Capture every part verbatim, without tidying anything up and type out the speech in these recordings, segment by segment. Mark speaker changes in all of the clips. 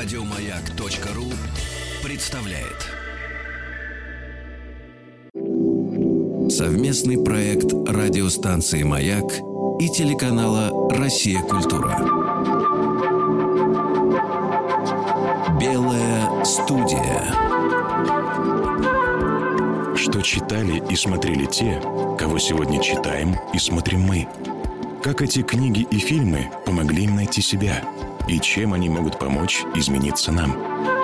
Speaker 1: Радиомаяк.ру представляет совместный проект радиостанции «Маяк» и телеканала «Россия. Культура». Белая студия.
Speaker 2: Что читали и смотрели те, кого сегодня читаем и смотрим мы? Как эти книги и фильмы помогли им найти себя? И чем они могут помочь измениться нам?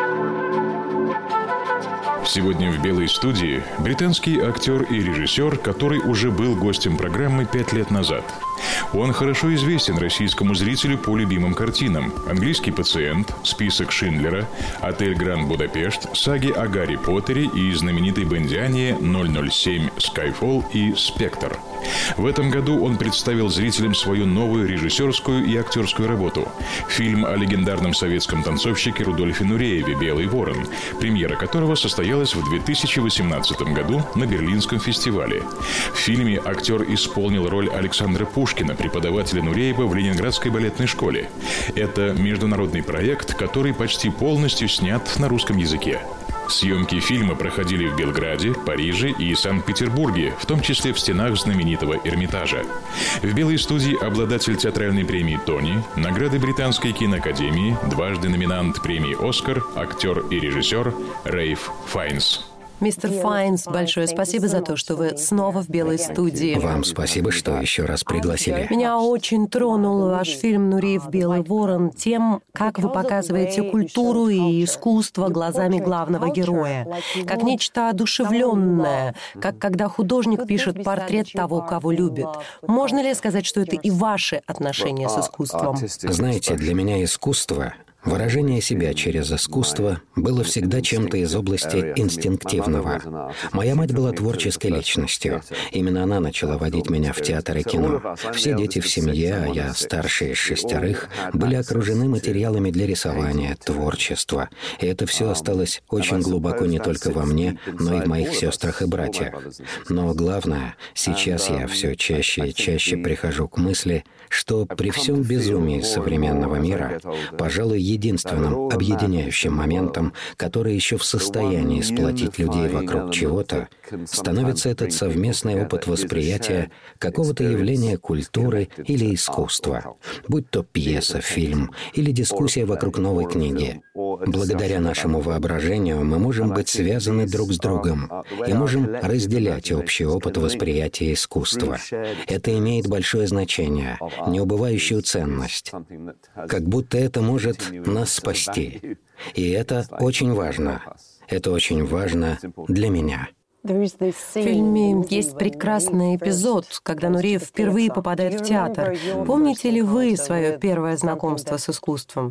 Speaker 2: Сегодня в «Белой студии» британский актер и режиссер, который уже был гостем программы пять лет назад. Он хорошо известен российскому зрителю по любимым картинам: «Английский пациент», «Список Шиндлера», «Отель Гранд Будапешт», саги о Гарри Поттере и знаменитой бондиане ноль ноль семь «Скайфолл» и «Спектр». В этом году он представил зрителям свою новую режиссерскую и актерскую работу – фильм о легендарном советском танцовщике Рудольфе Нурееве «Белый ворон», премьера которого состоялась в две тысячи восемнадцатом году на Берлинском фестивале. В фильме актер исполнил роль Александра Пушкина, преподавателя Нуреева в Ленинградской балетной школе. Это международный проект, который почти полностью снят на русском языке. Съемки фильма проходили в Белграде, Париже и Санкт-Петербурге, в том числе в стенах знаменитого Эрмитажа. В «Белой студии» обладатель театральной премии «Тони», награды Британской киноакадемии, дважды номинант премии «Оскар», актер и режиссер Рэйф Файнс.
Speaker 3: Мистер Файнс, большое спасибо за то, что вы снова в «Белой студии».
Speaker 4: Вам спасибо, что еще раз пригласили.
Speaker 3: Меня очень тронул ваш фильм «Нуреев. Белый ворон» тем, как вы показываете культуру и искусство глазами главного героя. Как нечто одушевленное, как когда художник пишет портрет того, кого любит. Можно ли сказать, что это и ваши отношения с искусством?
Speaker 4: Знаете, для меня искусство... Выражение себя через искусство было всегда чем-то из области инстинктивного. Моя мать была творческой личностью. Именно она начала водить меня в театр и кино. Все дети в семье, а я старший из шестерых, были окружены материалами для рисования, творчества. И это все осталось очень глубоко не только во мне, но и в моих сестрах и братьях. Но главное, сейчас я все чаще и чаще прихожу к мысли, что при всем безумии современного мира, пожалуй, единственным объединяющим моментом, который еще в состоянии сплотить людей вокруг чего-то, становится этот совместный опыт восприятия какого-то явления культуры или искусства, будь то пьеса, фильм или дискуссия вокруг новой книги. Благодаря нашему воображению мы можем быть связаны друг с другом и можем разделять общий опыт восприятия искусства. Это имеет большое значение, неубывающую ценность. Как будто это может нас спасти. И это очень важно. Это очень важно для меня.
Speaker 3: В фильме есть прекрасный эпизод, когда Нуреев впервые попадает в театр. Помните ли вы свое первое знакомство с искусством?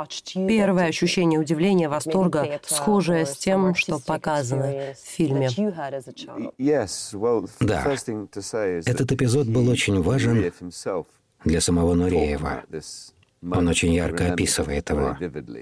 Speaker 3: Первое ощущение удивления, восторга, схожее с тем, что показано в фильме.
Speaker 4: Да. Этот эпизод был очень важен для самого Нуреева. Он очень ярко описывает его.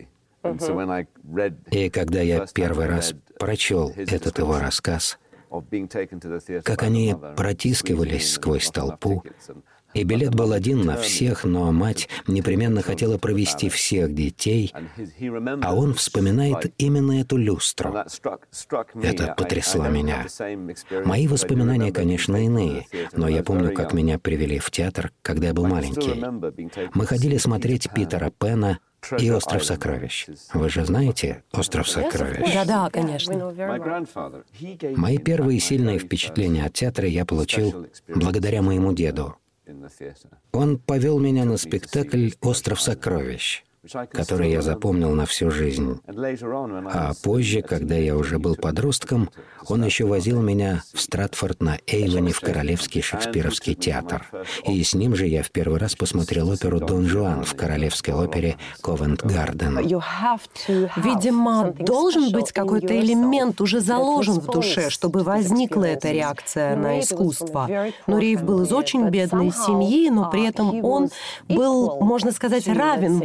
Speaker 4: И когда я первый раз прочел этот его рассказ, как они протискивались сквозь толпу, и билет был один на всех, но мать непременно хотела провести всех детей, а он вспоминает именно эту люстру. Это потрясло меня. Мои воспоминания, конечно, иные, но я помню, как меня привели в театр, когда я был маленький. Мы ходили смотреть Питера Пэна и «Остров сокровищ». Вы же знаете «Остров сокровищ»?
Speaker 3: Да-да, конечно.
Speaker 4: Мои первые сильные впечатления от театра я получил благодаря моему деду. Он повел меня на спектакль «Остров сокровищ», который я запомнил на всю жизнь. А позже, когда я уже был подростком, он еще возил меня в Стратфорд-на-Эйвоне в Королевский шекспировский театр. И с ним же я в первый раз посмотрел оперу «Дон Жуан» в Королевской опере «Ковент-Гарден».
Speaker 3: Видимо, должен быть какой-то элемент уже заложен в душе, чтобы возникла эта реакция на искусство. Нуреев был из очень бедной семьи, но при этом он был, можно сказать, равен вам в своей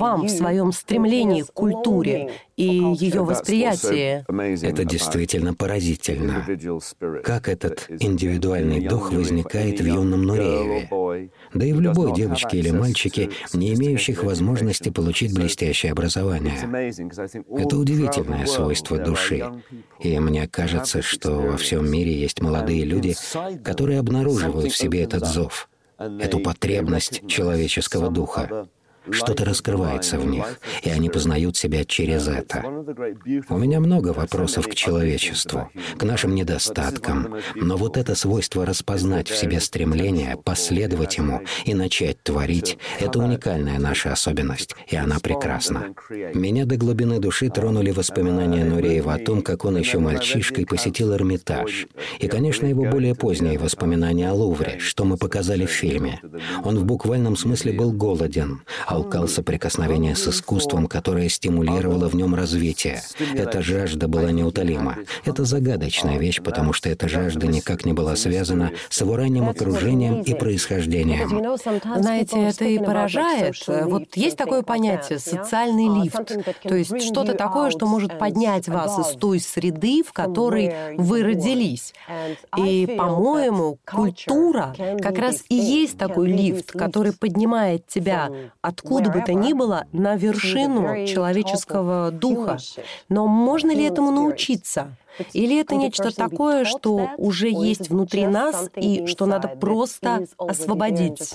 Speaker 3: твоем стремлении к культуре и ее восприятии.
Speaker 4: Это действительно поразительно. Как этот индивидуальный дух возникает в юном Нурееве, да и в любой девочке или мальчике, не имеющих возможности получить блестящее образование. Это удивительное свойство души. И мне кажется, что во всем мире есть молодые люди, которые обнаруживают в себе этот зов, эту потребность человеческого духа. Что-то раскрывается в них, и они познают себя через это. У меня много вопросов к человечеству, к нашим недостаткам, но вот это свойство распознать в себе стремление, последовать ему и начать творить — это уникальная наша особенность, и она прекрасна. Меня до глубины души тронули воспоминания Нуреева о том, как он еще мальчишкой посетил Эрмитаж, и, конечно, его более поздние воспоминания о Лувре, что мы показали в фильме. Он в буквальном смысле был голоден, алкал соприкосновения с искусством, которое стимулировало в нем развитие. Эта жажда была неутолима. Это загадочная вещь, потому что эта жажда никак не была связана с его ранним окружением и происхождением.
Speaker 3: Знаете, это и поражает. Вот есть такое понятие — социальный лифт. То есть что-то такое, что может поднять вас из той среды, в которой вы родились. И, по-моему, культура как раз и есть такой лифт, который поднимает тебя откуда бы то ни было на вершину человеческого духа. Но можно ли этому научиться? Или это нечто такое, что уже есть внутри нас и что надо просто освободить?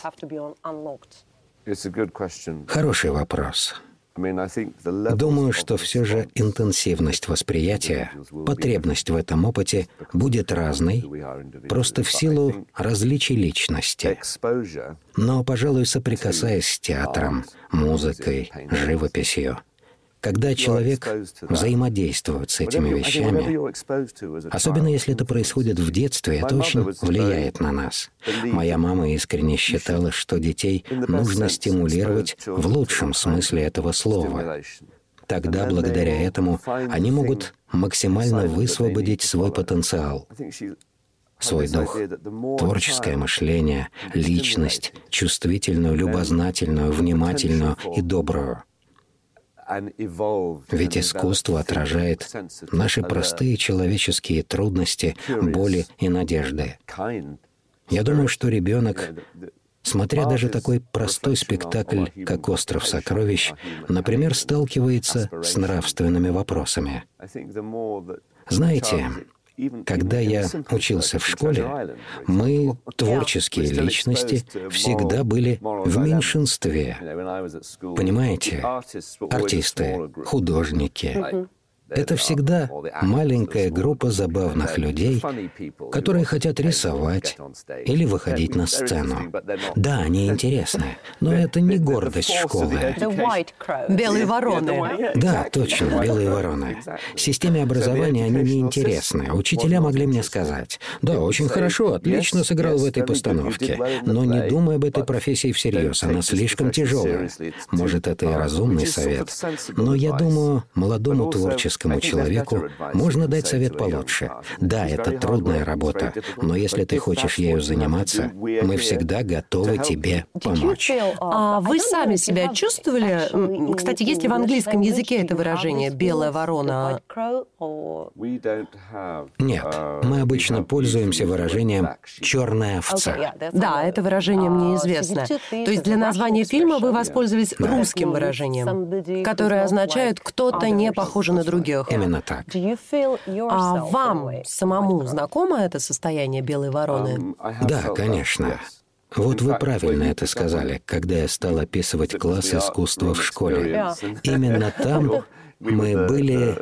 Speaker 4: Хороший вопрос. Думаю, что все же интенсивность восприятия, потребность в этом опыте будет разной, просто в силу различий личности. Но, пожалуй, соприкасаясь с театром, музыкой, живописью, когда человек взаимодействует с этими вещами, особенно если это происходит в детстве, это очень влияет на нас. Моя мама искренне считала, что детей нужно стимулировать в лучшем смысле этого слова. Тогда, благодаря этому, они могут максимально высвободить свой потенциал, свой дух, творческое мышление, личность, чувствительную, любознательную, внимательную и добрую. Ведь искусство отражает наши простые человеческие трудности, боли и надежды. Я думаю, что ребенок, смотря даже такой простой спектакль, как «Остров сокровищ», например, сталкивается с нравственными вопросами. Знаете, когда я учился в школе, мы, творческие личности, всегда были в меньшинстве. Понимаете? Артисты, художники. Это всегда маленькая группа забавных людей, которые хотят рисовать или выходить на сцену. Да, они интересны, но это не гордость школы.
Speaker 3: Белые вороны.
Speaker 4: Да, точно, белые вороны. Системе образования они не интересны. Учителя могли мне сказать: «Да, очень хорошо, отлично сыграл в этой постановке, но не думай об этой профессии всерьез, она слишком тяжелая». Может, это и разумный совет, но я думаю, молодому творческому человеку можно дать совет получше. Да, это трудная работа, но если ты хочешь ею заниматься, мы всегда готовы тебе помочь.
Speaker 3: А вы сами себя чувствовали? Кстати, есть ли в английском языке это выражение «белая ворона»?
Speaker 4: Нет, мы обычно пользуемся выражением «черная овца».
Speaker 3: Да, это выражение мне известно. То есть для названия фильма вы воспользовались русским выражением, которое означает «кто-то не похожий на других».
Speaker 4: Именно так.
Speaker 3: А вам самому знакомо это состояние белой вороны?
Speaker 4: Да, конечно. Вот вы правильно это сказали, когда я стал описывать класс искусства в школе. Именно там мы были...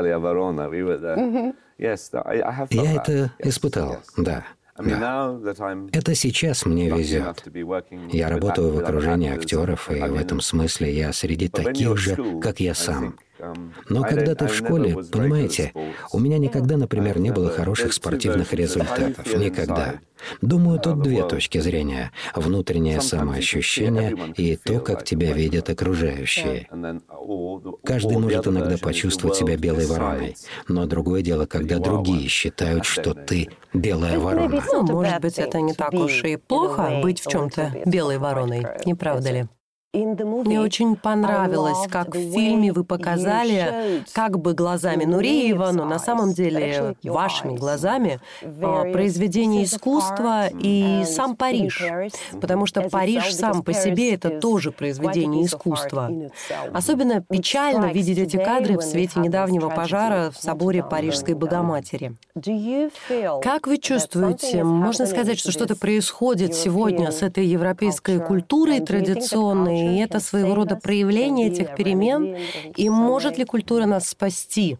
Speaker 4: Я это испытал, да. Да. Это сейчас мне везет. Я работаю в окружении актеров, и в этом смысле я среди таких же, как я сам. Но когда ты в школе, понимаете, у меня никогда, например, не было хороших спортивных результатов. Никогда. Думаю, тут две точки зрения. Внутреннее самоощущение и то, как тебя видят окружающие. Каждый может иногда почувствовать себя белой вороной. Но другое дело, когда другие считают, что ты белая ворона.
Speaker 3: Ну, может быть, это не так уж и плохо быть в чем-то белой вороной, не правда ли? Мне очень понравилось, как в фильме вы показали, как бы глазами Нуриева, но на самом деле вашими глазами, произведение искусства и сам Париж. Потому что Париж сам по себе — это тоже произведение искусства. Особенно печально видеть эти кадры в свете недавнего пожара в соборе Парижской Богоматери. Как вы чувствуете, можно сказать, что что-то происходит сегодня с этой европейской культурой традиционной, и это своего рода проявление этих перемен? И может ли культура нас спасти?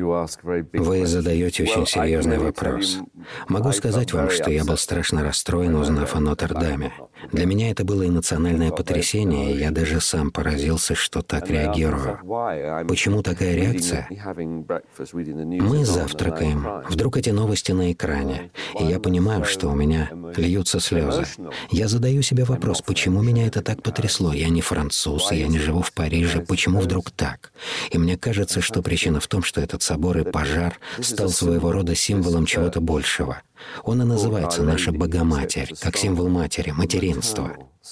Speaker 4: Вы задаете очень серьезный вопрос. Могу сказать вам, что я был страшно расстроен, узнав о Нотр-Даме. Для меня это было эмоциональное потрясение, и я даже сам поразился, что так реагирую. Почему такая реакция? Мы завтракаем. Вдруг эти новости на экране, и я понимаю, что у меня льются слезы. Я задаю себе вопрос, почему меня это так потрясло? Я не француз, я не живу в Париже. Почему вдруг так? И мне кажется, что причина в том, что этот собор и пожар стал своего рода символом чего-то большего. Он и называется «Наша Богоматерь», как символ матери, материнства.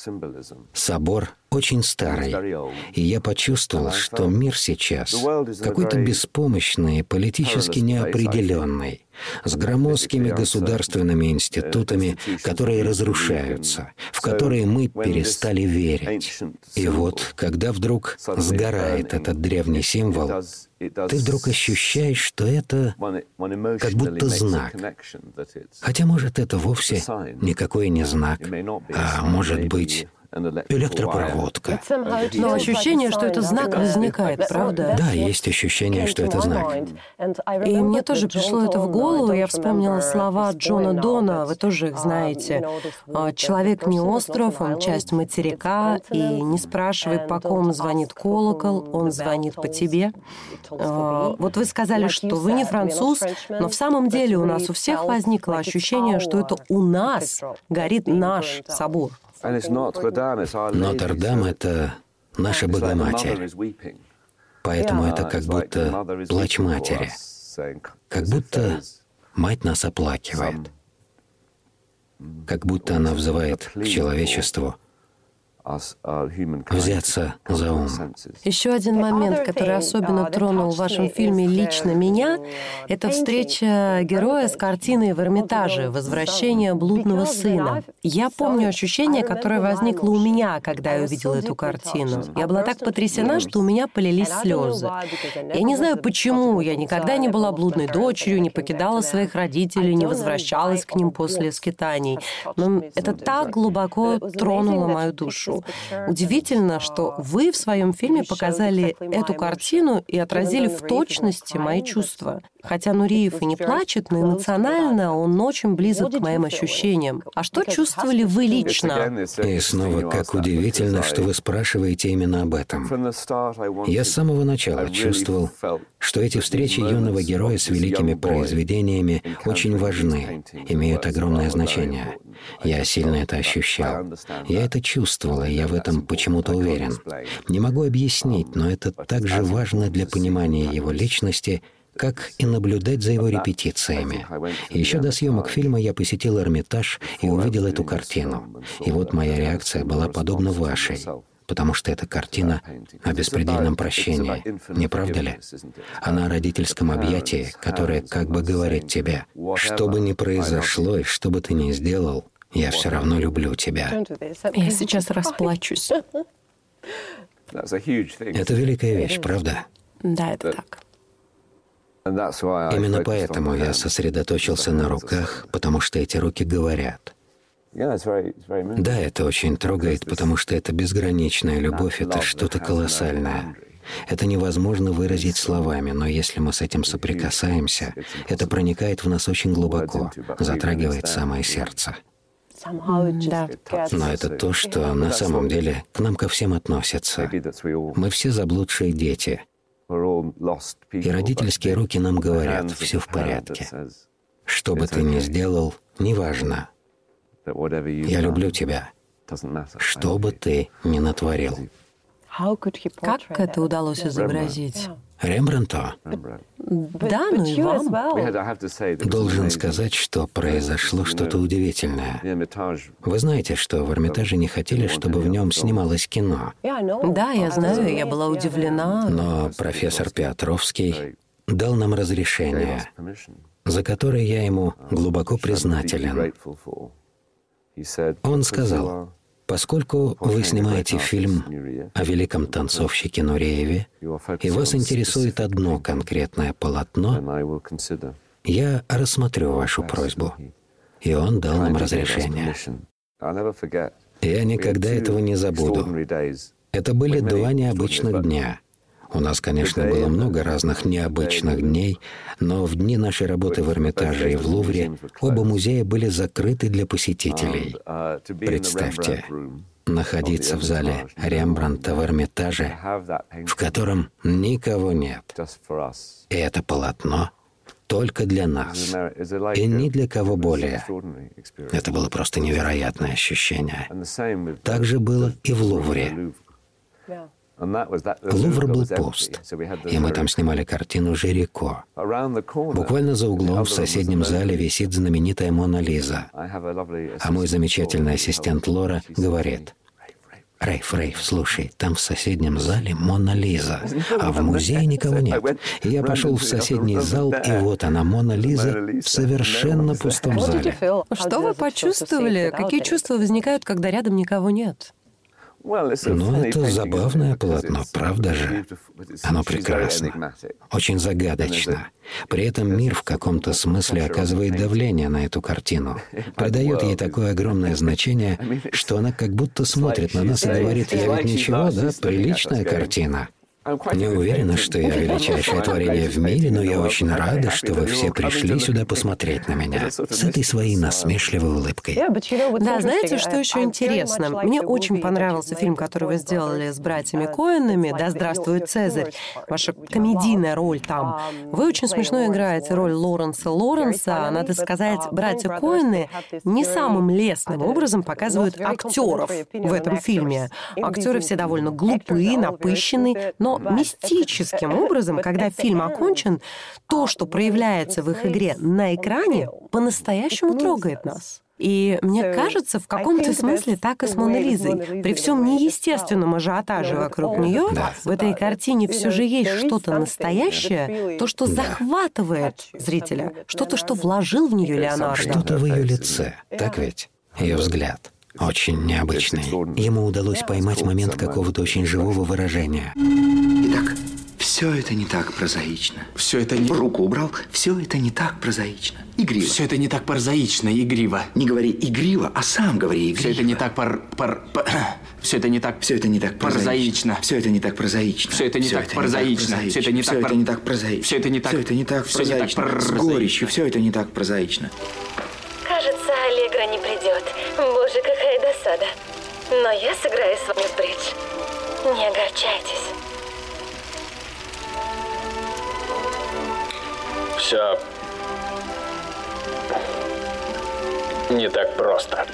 Speaker 4: Собор очень старый, и я почувствовал, что мир сейчас какой-то беспомощный и политически неопределенный, с громоздкими государственными институтами, которые разрушаются, в которые мы перестали верить. И вот, когда вдруг сгорает этот древний символ, ты вдруг ощущаешь, что это как будто знак. Хотя, может, это вовсе никакой не знак, а может быть электропроводка.
Speaker 3: Но ощущение, что это знак, возникает, правда?
Speaker 4: Да, есть ощущение, что это знак.
Speaker 3: И мне тоже пришло это в голову. Я вспомнила слова Джона Дона, вы тоже их знаете. «Человек не остров, он часть материка, и не спрашивай, по ком звонит колокол, он звонит по тебе». Вот вы сказали, что вы не француз, но в самом деле у нас у всех возникло ощущение, что это у нас горит наш собор.
Speaker 4: Нотр-Дам — это наша Богоматерь. Поэтому это как будто плач матери. Как будто мать нас оплакивает. Как будто она взывает к человечеству взяться за ум.
Speaker 3: Еще один момент, который особенно тронул в вашем фильме лично меня, это встреча героя с картиной в Эрмитаже «Возвращение блудного сына». Я помню ощущение, которое возникло у меня, когда я увидела эту картину. Я была так потрясена, что у меня полились слезы. Я не знаю, почему. Я никогда не была блудной дочерью, не покидала своих родителей, не возвращалась к ним после скитаний. Но это так глубоко тронуло мою душу. Удивительно, что вы в своем фильме показали эту картину и отразили в точности мои чувства. Хотя Нуриев и не плачет, но эмоционально он очень близок к моим ощущениям. А что чувствовали вы лично?
Speaker 4: И снова, как удивительно, что вы спрашиваете именно об этом. Я с самого начала чувствовал, что эти встречи юного героя с великими произведениями очень важны, имеют огромное значение. Я сильно это ощущал. Я это чувствовал, и я в этом почему-то уверен. Не могу объяснить, но это так же важно для понимания его личности, как и наблюдать за его репетициями. Еще до съемок фильма я посетил Эрмитаж и увидел эту картину. И вот моя реакция была подобна вашей, потому что это картина о беспредельном прощении, не правда ли? Она о родительском объятии, которое как бы говорит тебе: что бы ни произошло и что бы ты ни сделал, я все равно люблю тебя.
Speaker 3: Я сейчас расплачусь.
Speaker 4: Это великая вещь, правда?
Speaker 3: Да, это так.
Speaker 4: Именно поэтому я сосредоточился на руках, потому что эти руки говорят. Да, это очень трогает, потому что это безграничная любовь, это что-то колоссальное. Это невозможно выразить словами, но если мы с этим соприкасаемся, это проникает в нас очень глубоко, затрагивает самое сердце.
Speaker 3: Да.
Speaker 4: Но это то, что на самом деле к нам ко всем относится. Мы все заблудшие дети. И родительские руки нам говорят: все в порядке. Что бы ты ни сделал, неважно. Я люблю тебя. Что бы ты ни натворил.
Speaker 3: Как это удалось изобразить?
Speaker 4: Рембрандту?
Speaker 3: Да, ну и вам.
Speaker 4: Должен сказать, что произошло что-то удивительное. Вы знаете, что в Эрмитаже не хотели, чтобы в нем снималось кино.
Speaker 3: Да, я знаю, я была удивлена.
Speaker 4: Но профессор Петровский дал нам разрешение, за которое я ему глубоко признателен. Он сказал: поскольку вы снимаете фильм о великом танцовщике Нурееве, и вас интересует одно конкретное полотно, я рассмотрю вашу просьбу. И он дал нам разрешение. Я никогда этого не забуду. Это были два необычных дня. У нас, конечно, было много разных необычных дней, но в дни нашей работы в Эрмитаже и в Лувре оба музея были закрыты для посетителей. Представьте, находиться в зале Рембрандта в Эрмитаже, в котором никого нет. И это полотно только для нас, и ни для кого более. Это было просто невероятное ощущение. Так же было и в Лувре. Лувр был пуст, и мы там снимали картину «Жирико». Буквально за углом в соседнем зале висит знаменитая «Мона Лиза». А мой замечательный ассистент Лора говорит: «Рейф, Рейф, слушай, там в соседнем зале Мона Лиза, а в музее никого нет». И я пошел в соседний зал, и вот она, Мона Лиза, в совершенно пустом зале.
Speaker 3: Что вы почувствовали? Какие чувства возникают, когда рядом никого нет?
Speaker 4: Ну, это забавное полотно, правда же? Оно прекрасно, очень загадочно. При этом мир в каком-то смысле оказывает давление на эту картину, придает ей такое огромное значение, что она как будто смотрит на нас и говорит: «Я ведь ничего, да, приличная картина». Не уверена, что я величайшее творение в мире, но я очень рада, что вы все пришли сюда посмотреть на меня с этой своей насмешливой улыбкой.
Speaker 3: Да, знаете, что еще интересно? Мне очень понравился фильм, который вы сделали с братьями Коэнами «Да здравствует Цезарь». Ваша комедийная роль там. Вы очень смешно играете роль Лоренса Лоренса. Надо сказать, братья Коэны не самым лестным образом показывают актеров в этом фильме. Актеры все довольно глупые, напыщенные, но мистическим образом, когда фильм окончен, то, что проявляется в их игре на экране, по-настоящему трогает нас. И мне кажется, в каком-то смысле так и с Моной Лизой. При всем неестественном ажиотаже вокруг нее, да, в этой картине все же есть что-то настоящее, то, что да. захватывает зрителя, что-то, что вложил в нее Леонардо.
Speaker 4: Что-то в ее лице, так ведь? Ее взгляд. Очень необычный. Ему удалось поймать момент какого-то очень живого выражения.
Speaker 5: Итак, все это не так прозаично. Все это не... Руку убрал. Все это не так прозаично. Игриво.
Speaker 6: Все это не так прозаично, игриво.
Speaker 5: Не говори игриво, а сам говори игриво.
Speaker 6: Все это не так пар... пар... пар... Все это не так...
Speaker 5: Все это не так прозаично. Все это не так прозаично.
Speaker 6: Все это не так прозаично. Все это не так прозаично.
Speaker 5: Все это не так прозаично. Все это не так прозаично. С горечью. Все это не так прозаично.
Speaker 7: Кажется, Аллегра не придет. Боже, какая досада. Но я сыграю с вами в бридж. Не огорчайтесь.
Speaker 8: Все не так просто.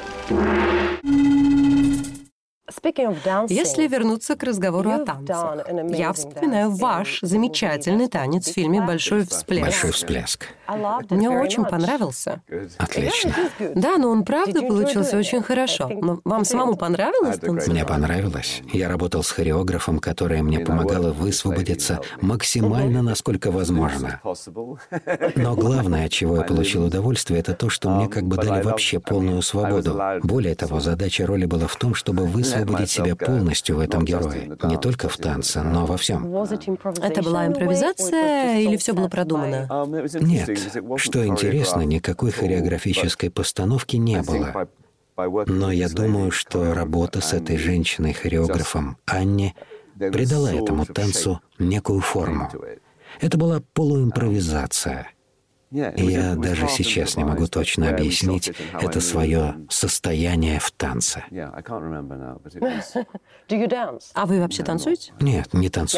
Speaker 3: Если вернуться к разговору о танцах, я вспоминаю ваш замечательный танец в фильме «Большой всплеск».
Speaker 4: «Большой всплеск».
Speaker 3: Мне очень понравился.
Speaker 4: Отлично.
Speaker 3: Да, но он правда получился очень хорошо. Но вам самому понравилось танцевать?
Speaker 4: Мне понравилось. Я работал с хореографом, которая мне помогала высвободиться максимально, насколько возможно. Но главное, от чего я получил удовольствие, это то, что мне как бы дали вообще полную свободу. Более того, задача роли была в том, чтобы высвободить себя полностью в этом герое. Не только в танце, но во всем.
Speaker 3: Это была импровизация или все было продумано?
Speaker 4: Нет. Что интересно, никакой хореографической постановки не было. Но я думаю, что работа с этой женщиной-хореографом Анне придала этому танцу некую форму. Это была полуимпровизация. И я даже сейчас не могу точно объяснить это свое состояние в танце.
Speaker 3: А вы вообще танцуете?
Speaker 4: Нет, не танцую.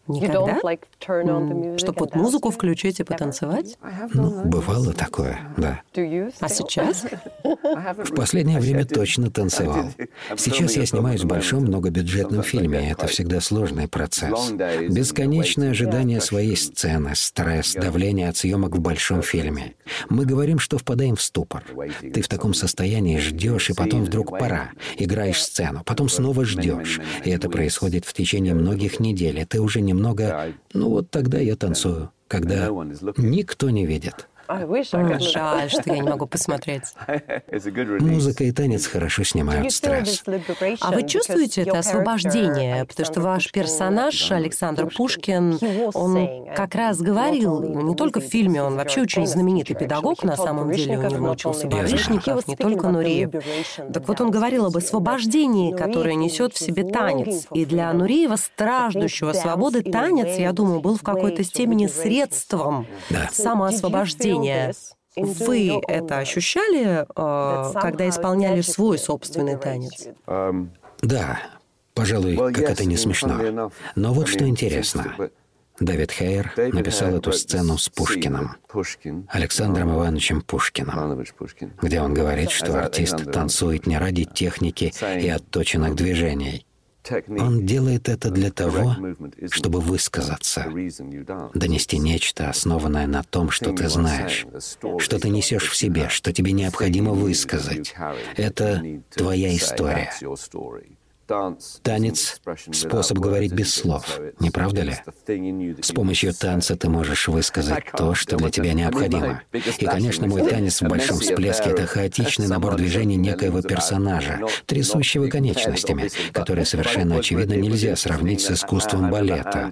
Speaker 3: Никогда? Чтобы вот музыку включить и потанцевать?
Speaker 4: Ну, бывало такое, да.
Speaker 3: А сейчас?
Speaker 4: В последнее время точно танцевал. Сейчас я снимаюсь в большом многобюджетном фильме, и это всегда сложный процесс. Бесконечное ожидание своей сцены, стресс, давление от съемок в большом фильме. Мы говорим, что впадаем в ступор. Ты в таком состоянии ждешь, и потом вдруг пора. Играешь сцену, потом снова ждешь. И это происходит в течение многих недель, и ты уже немного... Ну вот тогда я танцую, когда никто не видит.
Speaker 3: Жаль, что я не могу посмотреть.
Speaker 4: Музыка и танец хорошо снимают стресс.
Speaker 3: А вы чувствуете это освобождение? Потому что ваш персонаж, Александр Пушкин, он как раз говорил, не только в фильме, он вообще очень знаменитый педагог, на самом деле, у него учился Барышников, не только Нуриев. Так вот он говорил об освобождении, которое несет в себе танец. И для Нуриева, страждущего свободы, танец, я думаю, был в какой-то степени средством
Speaker 4: да.
Speaker 3: самоосвобождения. Вы это ощущали, когда исполняли свой собственный танец?
Speaker 4: Да, пожалуй, как это не смешно. Но вот что интересно. Дэвид Хейер написал эту сцену с Пушкиным, Александром Ивановичем Пушкиным, где он говорит, что артист танцует не ради техники и отточенных движений. Он делает это для того, чтобы высказаться, донести нечто, основанное на том, что ты знаешь, что ты несешь в себе, что тебе необходимо высказать. Это твоя история. Танец — способ говорить без слов, не правда ли? С помощью танца ты можешь высказать то, что для тебя необходимо. И, конечно, мой танец в большом всплеске — это хаотичный набор движений некоего персонажа, трясущего конечностями, которые совершенно очевидно нельзя сравнить с искусством балета.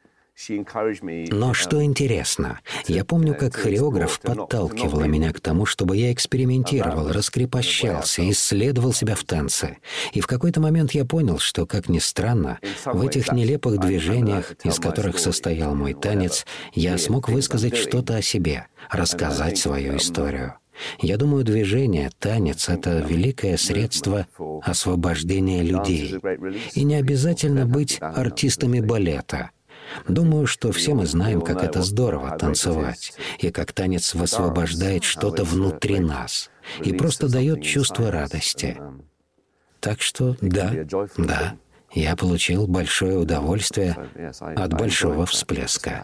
Speaker 4: Но что интересно, я помню, как хореограф подталкивала меня к тому, чтобы я экспериментировал, раскрепощался, исследовал себя в танце. И в какой-то момент я понял, что, как ни странно, в этих нелепых движениях, из которых состоял мой танец, я смог высказать что-то о себе, рассказать свою историю. Я думаю, движение, танец — это великое средство освобождения людей. И не обязательно быть артистами балета. Думаю, что все мы знаем, как это здорово танцевать, и как танец высвобождает что-то внутри нас и просто дает чувство радости. Так что да, да, я получил большое удовольствие от большого всплеска.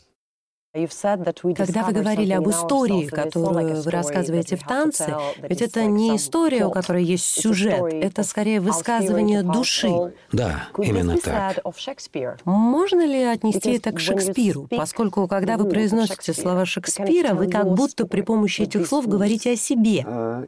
Speaker 3: Когда вы говорили об истории, которую вы рассказываете в танце, ведь это не история, у которой есть сюжет, это скорее высказывание души.
Speaker 4: Да, именно так.
Speaker 3: Можно ли отнести это к Шекспиру? Поскольку, когда вы произносите слова Шекспира, вы как будто при помощи этих слов говорите о себе.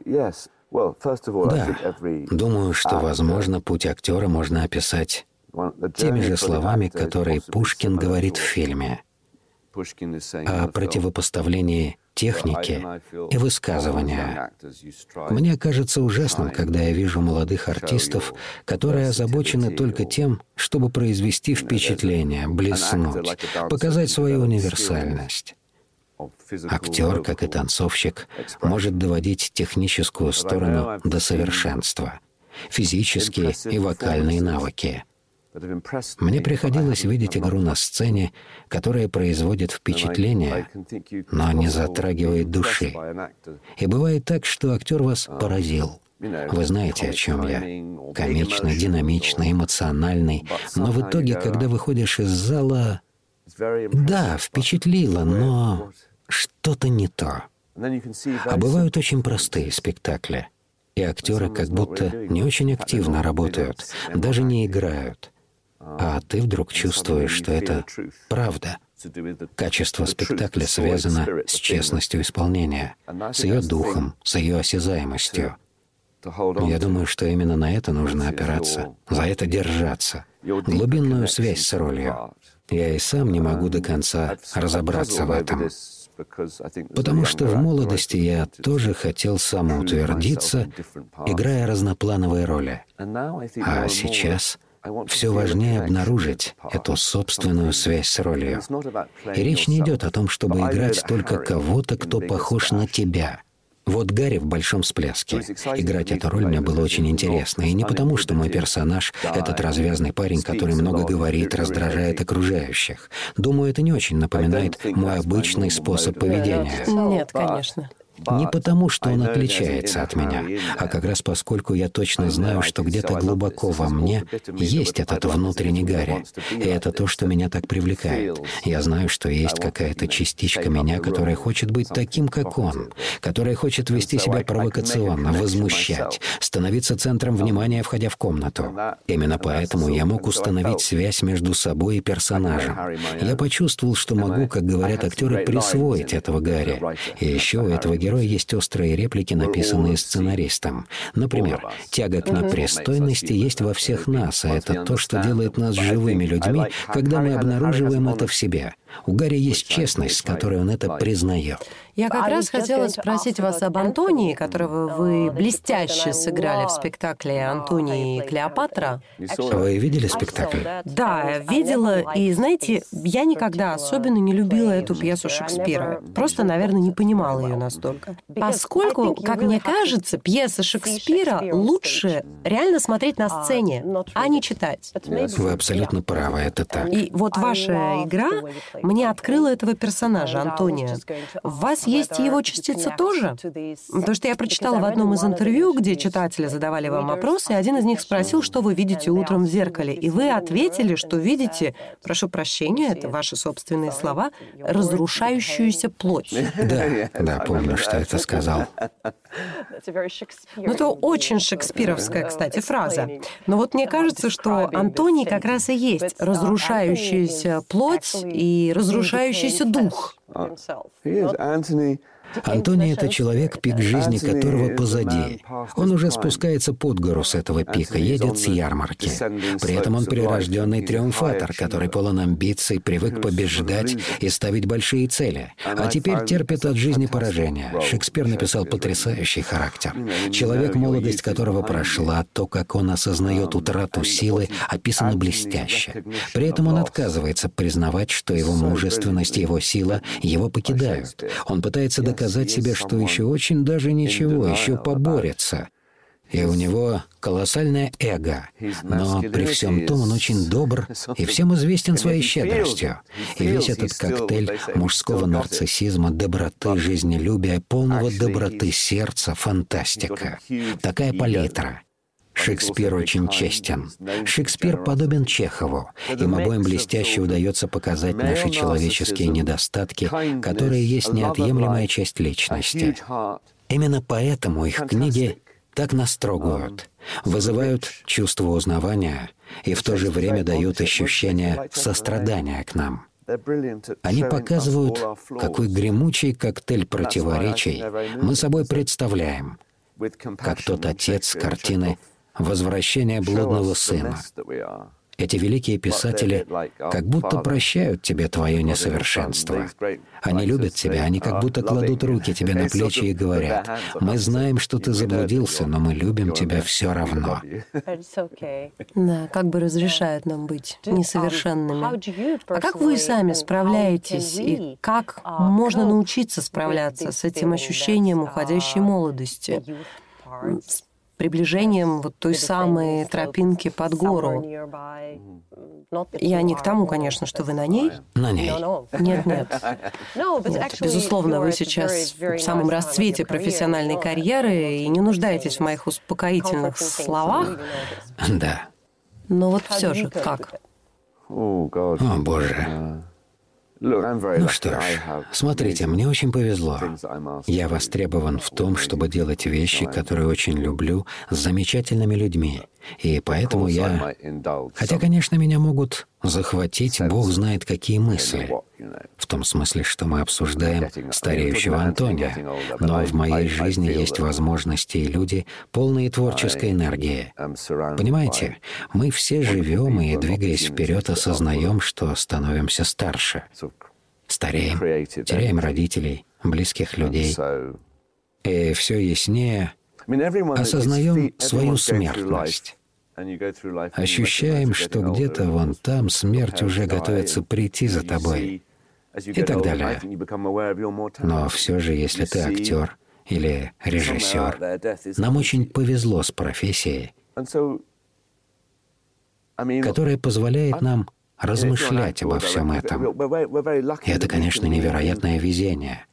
Speaker 4: Да, думаю, что, возможно, путь актера можно описать теми же словами, которые Пушкин говорит в фильме, о противопоставлении техники и высказывания. Мне кажется ужасным, когда я вижу молодых артистов, которые озабочены только тем, чтобы произвести впечатление, блеснуть, показать свою универсальность. Актер, как и танцовщик, может доводить техническую сторону до совершенства, физические и вокальные навыки. Мне приходилось видеть игру на сцене, которая производит впечатление, но не затрагивает души. И бывает так, что актер вас поразил. Вы знаете, о чем я. Комичный, динамичный, эмоциональный. Но в итоге, когда выходишь из зала, да, впечатлило, но что-то не то. А бывают очень простые спектакли. И актеры как будто не очень активно работают, даже не играют. А ты вдруг чувствуешь, что это правда. Качество спектакля связано с честностью исполнения, с ее духом, с ее осязаемостью. Я думаю, что именно на это нужно опираться, за это держаться, глубинную связь с ролью. Я и сам не могу до конца разобраться в этом. Потому что в молодости я тоже хотел самоутвердиться, играя разноплановые роли. А сейчас все важнее обнаружить эту собственную связь с ролью. И речь не идет о том, чтобы играть только кого-то, кто похож на тебя. Вот Гарри в «Большом всплеске». Играть эту роль мне было очень интересно. И не потому, что мой персонаж — этот развязный парень, который много говорит, раздражает окружающих. Думаю, это не очень напоминает мой обычный способ поведения.
Speaker 3: Нет, конечно.
Speaker 4: Не потому, что он отличается от меня, а как раз поскольку я точно знаю, что где-то глубоко во мне есть этот внутренний Гарри. И это то, что меня так привлекает. Я знаю, что есть какая-то частичка меня, которая хочет быть таким, как он, которая хочет вести себя провокационно, возмущать, становиться центром внимания, входя в комнату. Именно поэтому я мог установить связь между собой и персонажем. Я почувствовал, что могу, как говорят актеры, присвоить этого Гарри. И еще у этого героя есть острые реплики, написанные сценаристом. Например, тяга к непристойности есть во всех нас, а это то, что делает нас живыми людьми, когда мы обнаруживаем это в себе. У Гарри есть честность, с которой он это признает.
Speaker 3: Я как раз хотела спросить вас об Антонии, которого вы блестяще сыграли в спектакле «Антоний и Клеопатра».
Speaker 4: Вы видели спектакль?
Speaker 3: Да, видела. И, знаете, я никогда особенно не любила эту пьесу Шекспира. Просто, наверное, не понимала ее настолько. Поскольку, как мне кажется, пьеса Шекспира лучше реально смотреть на сцене, а не читать.
Speaker 4: Вы абсолютно правы, это так.
Speaker 3: И вот ваша игра мне открыла этого персонажа, Антония. В вас есть и его частица тоже? Потому что я прочитала в одном из интервью, где читатели задавали вам вопросы, и один из них спросил, что вы видите утром в зеркале. И вы ответили, что видите, прошу прощения, это ваши собственные слова, разрушающуюся плоть.
Speaker 4: Да, да, помню, что это сказал.
Speaker 3: Ну, это очень шекспировская, кстати, фраза. Но вот мне кажется, что Антоний как раз и есть разрушающаяся плоть и разрушающийся дух.
Speaker 4: Антоний — это человек, пик жизни которого позади. Он уже спускается под гору с этого пика, едет с ярмарки. При этом он прирожденный триумфатор, который полон амбиций, привык побеждать и ставить большие цели. А теперь терпит от жизни поражение. Шекспир написал потрясающий характер. Человек, молодость которого прошла, то, как он осознает утрату силы, описано блестяще. При этом он отказывается признавать, что его мужественность и его сила его покидают. Он пытается доказать сказать себе, что еще очень даже ничего, еще поборется. И у него колоссальное эго. Но при всем том он очень добр и всем известен своей щедростью. И весь этот коктейль мужского нарциссизма, доброты, жизнелюбия, полного доброты сердца, фантастика. Такая палитра. Шекспир очень честен. Шекспир подобен Чехову. Им обоим блестяще удается показать наши человеческие недостатки, которые есть неотъемлемая часть личности. Именно поэтому их книги так нас трогают, вызывают чувство узнавания и в то же время дают ощущение сострадания к нам. Они показывают, какой гремучий коктейль противоречий мы собой представляем, как тот отец картины «Возвращение блудного сына». Эти великие писатели как будто прощают тебе твое несовершенство. Они любят тебя, они как будто кладут руки тебе на плечи и говорят: «Мы знаем, что ты заблудился, но мы любим тебя все равно».
Speaker 3: Да, как бы разрешают нам быть несовершенными. А как вы сами справляетесь, и как можно научиться справляться с этим ощущением уходящей молодости? С приближением вот той самой тропинки под гору. Я не к тому, конечно, что вы на ней.
Speaker 4: На ней.
Speaker 3: Нет, нет. Нет, безусловно, вы сейчас в самом расцвете профессиональной карьеры и не нуждаетесь в моих успокоительных словах.
Speaker 4: Да.
Speaker 3: Но вот все же как?
Speaker 4: О, Боже. Ну что ж, смотрите, мне очень повезло. Я востребован в том, чтобы делать вещи, которые очень люблю, с замечательными людьми. И поэтому я... Хотя, конечно, меня могут захватить, Бог знает какие мысли. В том смысле, что мы обсуждаем стареющего Антония. Но в моей жизни есть возможности и люди, полные творческой энергии. Понимаете, мы все живем и, двигаясь вперед, осознаем, что становимся старше. Стареем, теряем родителей, близких людей. И все яснее осознаем свою смертность. Ощущаем, что где-то вон там смерть уже готовится прийти за тобой. И так далее. Но все же, если ты актер, или режиссер. Нам очень повезло с профессией, которая позволяет нам размышлять обо всем этом. И это, конечно, невероятное везение.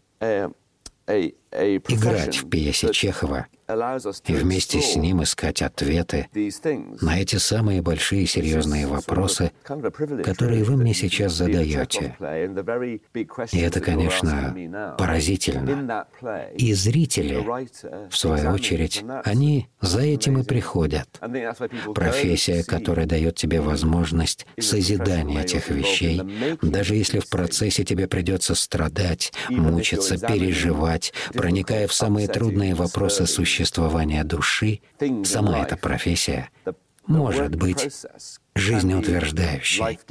Speaker 4: Играть в пьесе Чехова и вместе с ним искать ответы на эти самые большие серьезные вопросы, которые вы мне сейчас задаете. И это, конечно, поразительно. И зрители, в свою очередь, они за этим и приходят. Профессия, которая дает тебе возможность созидания этих вещей, даже если в процессе тебе придется страдать, мучиться, переживать, проникая в самые трудные вопросы существования души, сама эта профессия может быть жизнеутверждающей.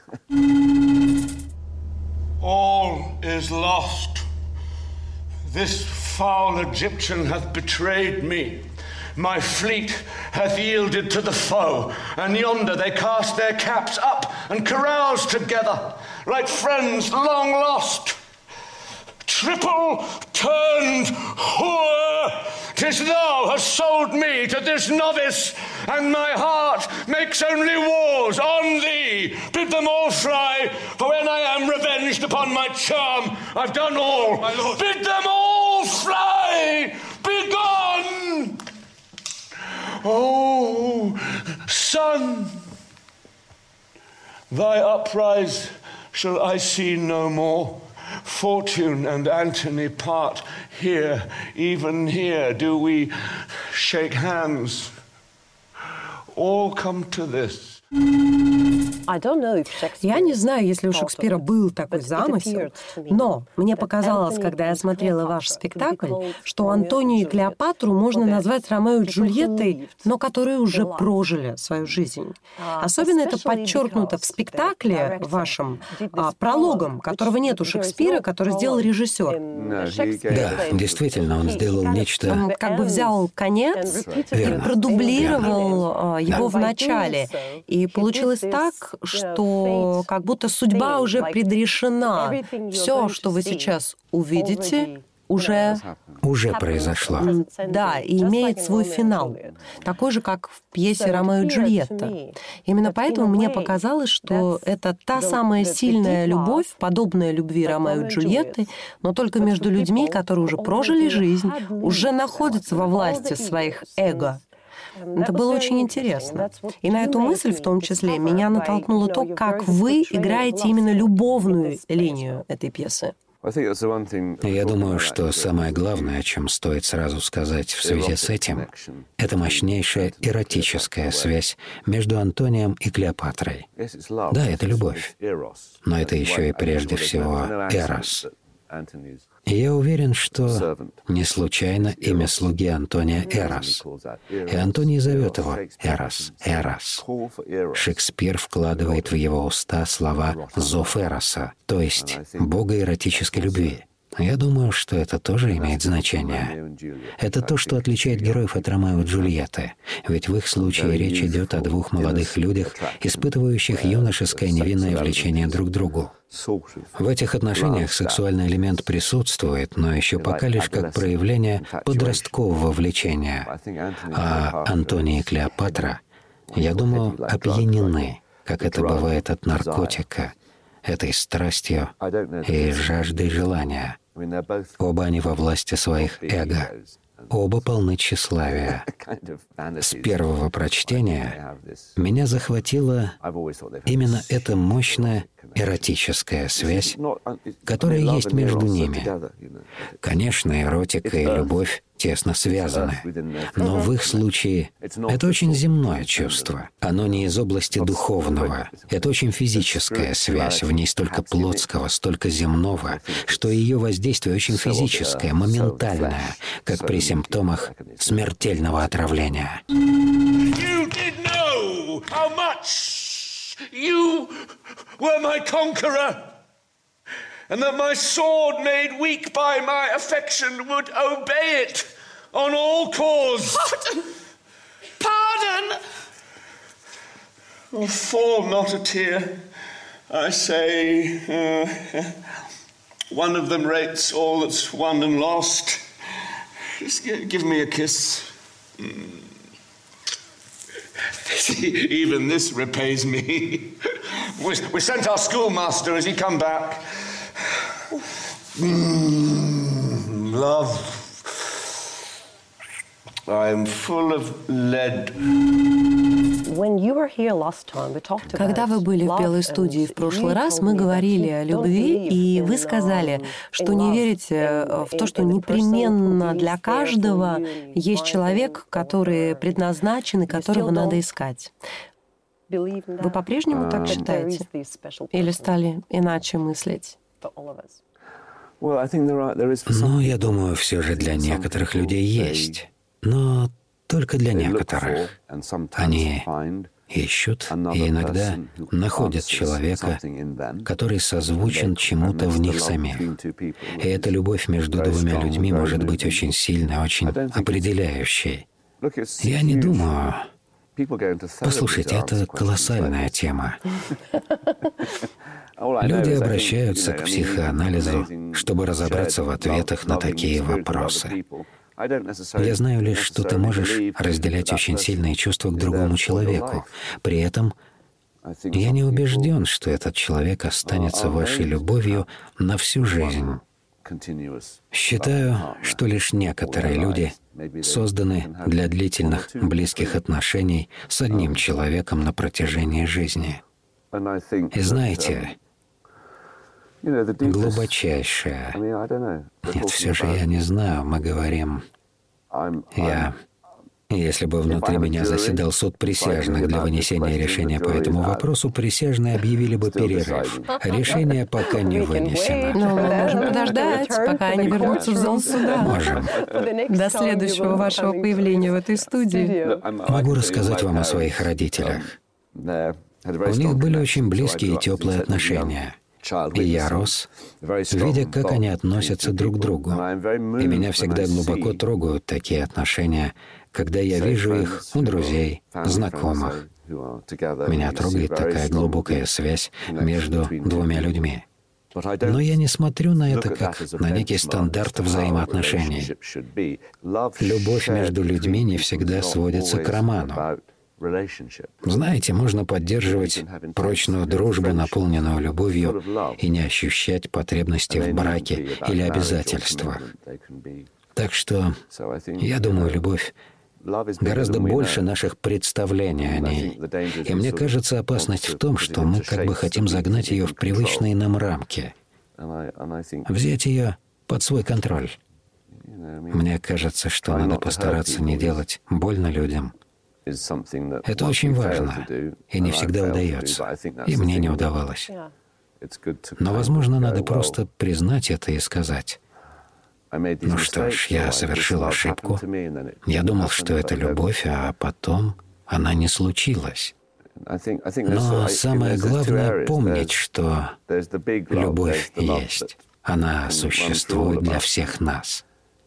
Speaker 9: All is lost. This foul Egyptian hath betrayed me. My fleet hath yielded to the foe, and yonder they cast their caps up and carouse together like friends long lost. Triple turned whore, 'tis thou hast sold me to this novice, and my heart makes only wars on thee. Bid them all fly, for when I am revenged upon my charm, I've done all. My lord. Bid them all fly, be gone. Oh, sun, thy uprise shall I see no more. Fortune and Antony part here, even here do we shake hands. All come to this.
Speaker 3: Я не знаю, если у Шекспира был такой замысел, но мне показалось, когда я смотрела ваш спектакль, что Антонию и Клеопатру можно назвать Ромео и Джульеттой, но которые уже прожили свою жизнь. Особенно это подчеркнуто в спектакле вашем, а, прологом, которого нет у Шекспира, который сделал режиссер.
Speaker 4: Да, действительно, он сделал нечто...
Speaker 3: Он как бы взял конец
Speaker 4: Верно.
Speaker 3: и продублировал а, его в начале. И получилось так, что как будто судьба уже предрешена. Все, что вы сейчас увидите, уже...
Speaker 4: Уже произошло.
Speaker 3: Да, и имеет свой финал. Такой же, как в пьесе «Ромео и Джульетта». Именно поэтому мне показалось, что это та самая сильная любовь, подобная любви Ромео и Джульетты, но только между людьми, которые уже прожили жизнь, уже находятся во власти своих эго. Это было очень интересно. И на эту мысль, в том числе, меня натолкнуло то, как вы играете именно любовную линию этой пьесы.
Speaker 4: Я думаю, что самое главное, о чем стоит сразу сказать в связи с этим, это мощнейшая эротическая связь между Антонием и Клеопатрой. Да, это любовь, но это еще и прежде всего эрос. И я уверен, что не случайно имя слуги Антония Эрос. И Антоний зовет его Эрос, Эрос. Шекспир вкладывает в его уста слова «зов Эроса», то есть бога эротической любви. Я думаю, что это тоже имеет значение. Это то, что отличает героев от Ромео и Джульетты. Ведь в их случае речь идет о двух молодых людях, испытывающих юношеское невинное влечение друг к другу. В этих отношениях сексуальный элемент присутствует, но еще пока лишь как проявление подросткового влечения. А Антоний и Клеопатра, я думаю, опьянены, как это бывает от наркотика, этой страстью и жаждой желания. Оба они во власти своих эго. Оба полны тщеславия. С первого прочтения меня захватила именно эта мощная эротическая связь, которая есть между ними. Конечно, эротика и любовь тесно связаны, но в их случае это очень земное чувство. Оно не из области духовного. Это очень физическая связь, в ней столько плотского, столько земного, что ее воздействие очень физическое, моментальное, как при симптомах смертельного отравления.
Speaker 9: You were my conqueror, and that my sword made weak by my affection would obey it on all cause.
Speaker 10: Pardon! Pardon!
Speaker 9: Oh, fall not a tear, I say. Uh, one of them rates all that's won and lost. Give me a kiss. Even this repays me. We, we sent our schoolmaster. Has he come back? Mm, love. I'm full of lead.
Speaker 3: Когда вы были в Белой студии в прошлый раз, мы говорили о любви, и вы сказали, что не верите в то, что непременно для каждого есть человек, который предназначен и которого надо искать. Вы по-прежнему так считаете? Или стали иначе мыслить?
Speaker 4: Ну, я думаю, все же для некоторых людей есть. Но только для некоторых. Они ищут и иногда находят человека, который созвучен чему-то в них самих. И эта любовь между двумя людьми может быть очень сильной, очень определяющей. Я не думаю... Послушайте, это колоссальная тема. Люди обращаются к психоанализу, чтобы разобраться в ответах на такие вопросы. Я знаю лишь, что ты можешь разделять очень сильные чувства к другому человеку. При этом я не убежден, что этот человек останется вашей любовью на всю жизнь. Считаю, что лишь некоторые люди созданы для длительных близких отношений с одним человеком на протяжении жизни. И знаете, глубочайшее. Нет, все же я не знаю, мы говорим... Я... Если бы внутри меня заседал суд присяжных для вынесения решения по этому вопросу, присяжные объявили бы перерыв. Решение пока не вынесено.
Speaker 3: Но мы можем подождать, пока они вернутся в зал суда.
Speaker 4: Можем.
Speaker 3: До следующего вашего появления в этой студии.
Speaker 4: Могу рассказать вам о своих родителях. У них были очень близкие и теплые отношения. И я рос, видя, как они относятся друг к другу. И меня всегда глубоко трогают такие отношения, когда я вижу их у друзей, знакомых. Меня трогает такая глубокая связь между двумя людьми. Но я не смотрю на это как на некий стандарт взаимоотношений. Любовь между людьми не всегда сводится к роману. Знаете, можно поддерживать прочную дружбу, наполненную любовью, и не ощущать потребности в браке или обязательствах. Так что, я думаю, любовь гораздо больше наших представлений о ней. И мне кажется, опасность в том, что мы как бы хотим загнать ее в привычные нам рамки, взять ее под свой контроль. Мне кажется, что надо постараться не делать больно людям. Это очень важно, и не всегда удается, и мне не удавалось. Но, возможно, надо просто признать это и сказать: «Ну что ж, я совершил ошибку. Я думал, что это любовь, а потом она не случилась». Но самое главное — помнить, что любовь есть. Она существует для всех нас.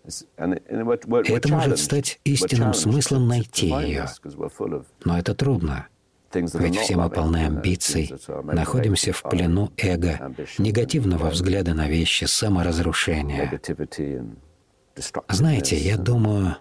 Speaker 4: И это может стать истинным смыслом найти ее. Но это трудно. Ведь все мы полны амбиций, находимся в плену эго, негативного взгляда на вещи, саморазрушения. Знаете, я думаю,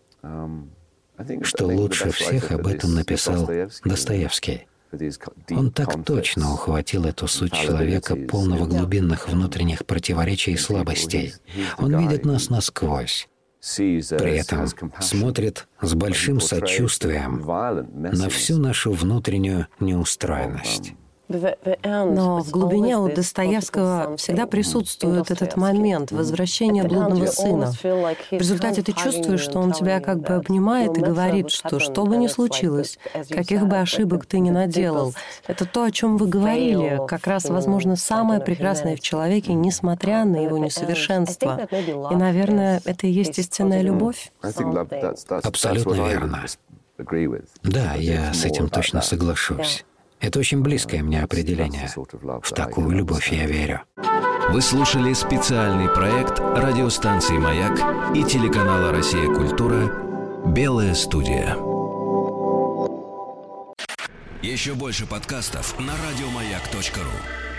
Speaker 4: что лучше всех об этом написал Достоевский. Он так точно ухватил эту суть человека, полного глубинных внутренних противоречий и слабостей. Он видит нас насквозь. При этом смотрит с большим сочувствием на всю нашу внутреннюю неустроенность.
Speaker 3: Но в глубине у Достоевского всегда присутствует этот момент возвращения блудного сына. В результате ты чувствуешь, что он тебя как бы обнимает и говорит, что что бы ни случилось, каких бы ошибок ты ни наделал, это то, о чем вы говорили, как раз, возможно, самое прекрасное в человеке, несмотря на его несовершенство. И, наверное, это и есть истинная любовь.
Speaker 4: Абсолютно верно. Да, я с этим точно соглашусь. Это очень близкое мне определение. В такую любовь я верю.
Speaker 1: Вы слушали специальный проект радиостанции «Маяк» и телеканала «Россия. Культура» «Белая студия». Еще больше подкастов на радиомаяк точка ру.